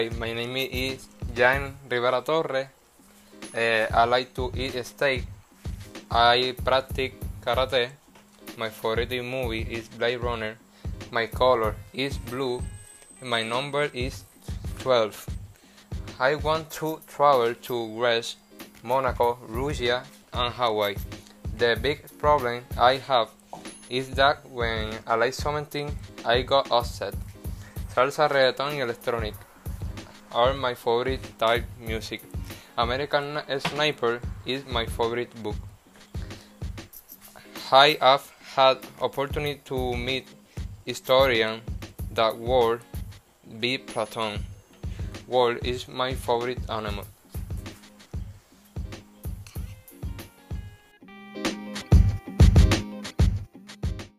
My name is Jan Rivera Torres. I like to eat steak. I practice karate. My favorite movie is Blade Runner. My color is blue. My number is 12. I want to travel to Greece, Monaco, Russia, and Hawaii. The big problem I have is that when I like something, I got upset. Salsa, reggaeton y electronic are my favorite type music. American Sniper is my favorite book. I have had opportunity to meet historian that world be Platon. Wolf is my favorite animal.